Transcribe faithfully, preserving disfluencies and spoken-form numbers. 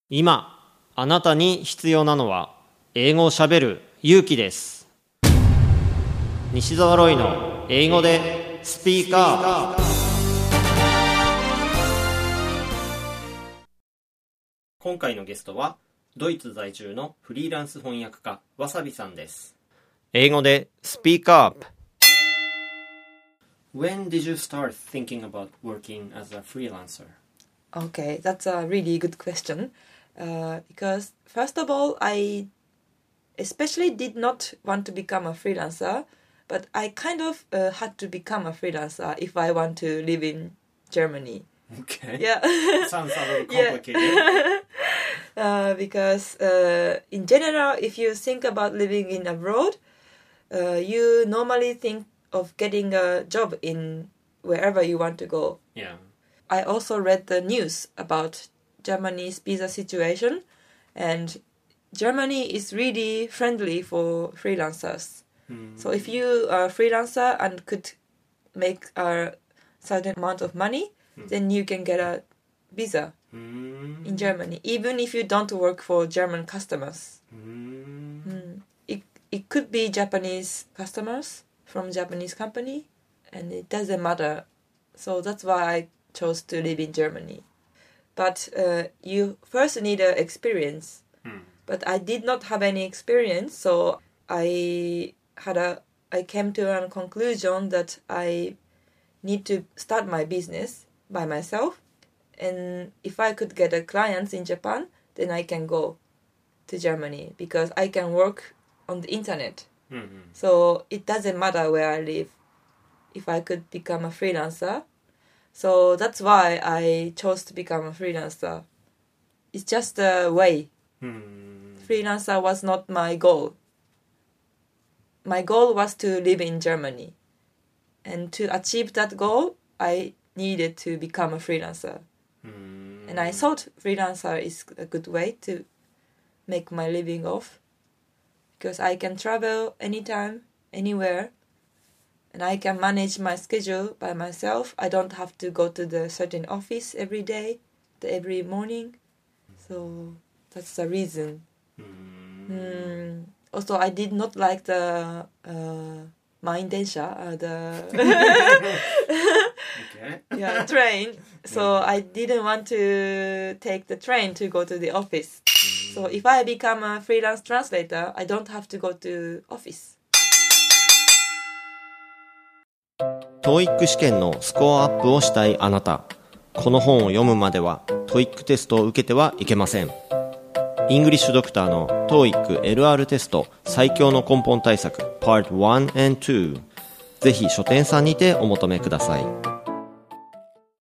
今あなたに必要なのは英語をしゃべる勇気です。西澤ロイの英語でスピーカー。今回のゲストはドイツ在住のフリーランス翻訳家わさびさんです。英語でスピーカー。When did you start thinking about working as a freelancer? Okay, that's a really good question. Uh, because first of all, I especially did not want to become a freelancer, but I kind of uh, had to become a freelancer if I want to live in Germany. Okay. Yeah. Sounds a little complicated. Yeah. uh, because uh, in general, if you think about living in abroad, uh, you normally think of getting a job in wherever you want to go. Yeah. I also read the news about Germany's visa situation, and Germany is really friendly for freelancers. Mm. So if you are a freelancer and could make a certain amount of money, mm. then you can get a visa mm. in Germany, even if you don't work for German customers. Mm. Mm. It, it could be Japanese customers from Japanese company, and it doesn't matter. So that's why I chose to live in Germany. But uh, you first need an experience. Mm. But I did not have any experience, so I had a I came to a conclusion that I need to start my business by myself. And if I could get a clients in Japan, then I can go to Germany because I can work on the internet. Mm-hmm. So it doesn't matter where I live if I could become a freelancer. So that's why I chose to become a freelancer. It's just a way. Hmm. Freelancer was not my goal. My goal was to live in Germany. And to achieve that goal, I needed to become a freelancer. Hmm. And I thought freelancer is a good way to make my living off. Because I can travel anytime, anywhere. And I can manage my schedule by myself. I don't have to go to the certain office every day, every morning. So that's the reason. Mm. Mm. Also, I did not like the uh, Main-densha, uh, the okay. yeah, train. So yeah. I didn't want to take the train to go to the office. Mm. So if I become a freelance translator, I don't have to go to office. トーイック 試験のスコアアップをしたいあなた、この本を読むまでは トーイック テストを受けてはいけません。イングリッシュドクターの トーイック エルアール テスト最強の根本対策 パートワン and ツー、ぜひ書店さんにてお求めください。